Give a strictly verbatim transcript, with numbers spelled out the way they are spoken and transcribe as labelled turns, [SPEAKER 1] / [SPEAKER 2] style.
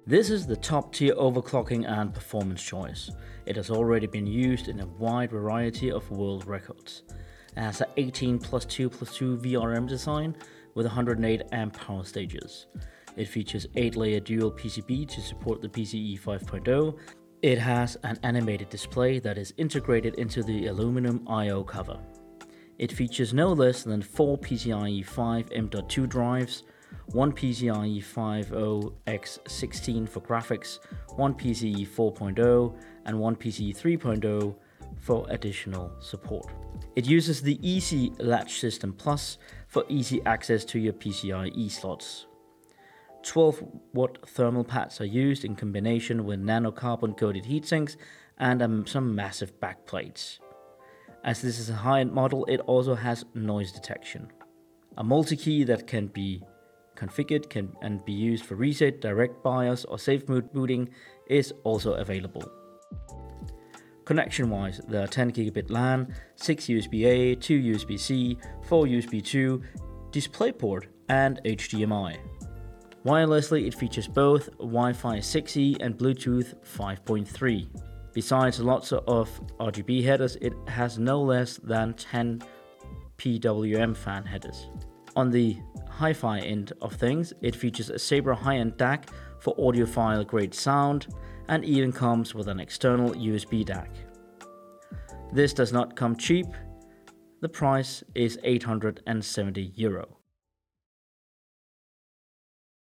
[SPEAKER 1] This is the top tier overclocking and performance choice. It has already been used in a wide variety of world records. It has an eighteen plus two plus two V R M design with one hundred eight amp power stages. It features eight layer dual P C B to support the P C I E five point oh. It has an animated display that is integrated into the aluminum I O cover. It features no less than four PCIe five M dot two drives, one PCIe five point oh by sixteen for graphics, one PCIe four point oh, and one PCIe three point oh for additional support. It uses the Easy Latch System Plus for easy access to your PCIe slots. twelve watt thermal pads are used in combination with nanocarbon coated heatsinks and um, some massive backplates. As this is a high-end model, it also has noise detection. A multi-key that can be configured can, and be used for reset, direct BIOS or safe mode booting is also available. Connection-wise, there are ten gigabit LAN, six U S B A, two U S B C, four U S B two, DisplayPort and H D M I. Wirelessly, it features both Wi-Fi six E and Bluetooth five point three. Besides lots of R G B headers, it has no less than ten P W M fan headers. On the hi-fi end of things, it features a Sabre high-end D A C for audiophile grade sound and even comes with an external U S B D A C. This does not come cheap. The price is eight hundred seventy euro.